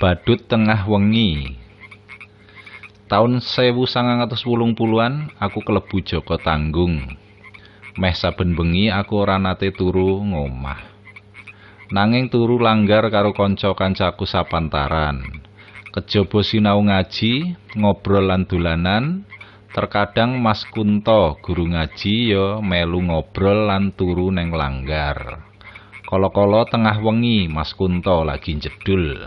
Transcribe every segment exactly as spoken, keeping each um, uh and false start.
Badut tengah wengi. Taun sewu sangang atus wolung puluhan aku klebu Jaka Tanggung. Meh saben bengi aku ora nate turu ngomah. Nanging turu langgar karo kanca-kancaku sapantaran. Kejaba sinau ngaji, ngobrol lan dolanan. Terkadang Mas Kunto guru ngaji ya melu ngobrol lan turu neng langgar. Kala-kala tengah wengi Mas Kunto lagi jedul.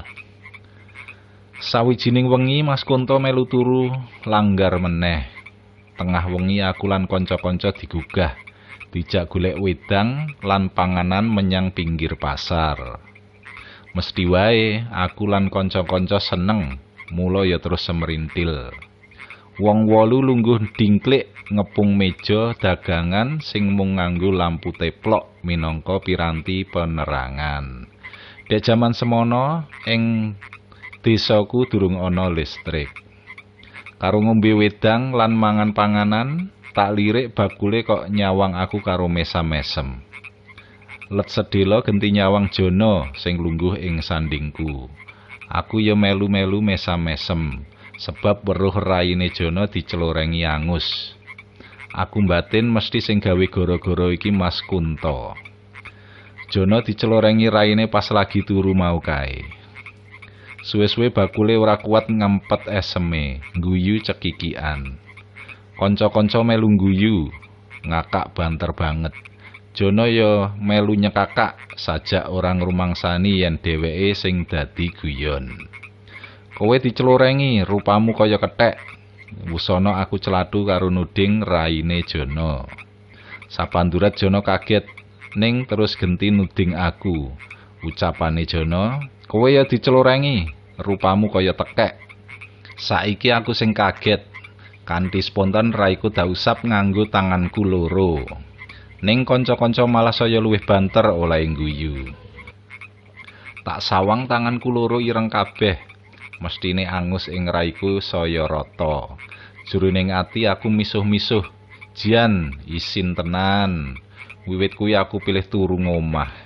Sawijining wengi Mas Kunto melu turu langgar meneh. Tengah wengi aku lan kanca-kanca digugah, dijak golek wedang lan panganan menyang pinggir pasar. Mesti wae aku lan kanca-kanca seneng, mula ya terus semerintil. Wong wolu lungguh dingklik ngepung meja dagangan sing mung nganggo lampu teplok minangka piranti penerangan. Dek jaman semono ing desaku durung ana listrik. Karo ngombe wedang lan mangan panganan, tak lirik bakule kok nyawang aku karo mesam-mesem. Let sedhela genti nyawang Jono sing lungguh ing sandingku. Aku ya melu-melu mesam-mesem, sebab weruh raine Jono dicelorengi angus. Aku batin mesti sing gawe gara-gara iki Mas Kunto. Jono dicelorengi raine pas lagi turu mau kae. Suwe-suwe bakule ora kuat ngempet eseme, ngguyu cekikian. Kanca-kanca melu ngguyu, ngakak banter banget. Jono ya melu nyekakak sajak orang rumangsani yen dheweke sing dadi guyon. Kowe dicelorengi, rupamu kaya kethek. Wusana aku celatu karo nuding raine Jono. Sapandurat Jono kaget, ning terus genti nuding aku. Ucapane Jono, kowe ya dicelorengi, rupamu kaya tekek. Saiki aku sing kaget. Kanthi spontan raiku dausap nganggo tanganku loro. Ning kanca-kanca malah saya luwih banter oleh ngguyu. Tak sawang tanganku loro ireng kabeh. Mestine angus ing raiku saya rata. Jroning ati aku misuh-misuh. Jian, isin tenan. Wiwit kuwi aku pilih turu ngomah.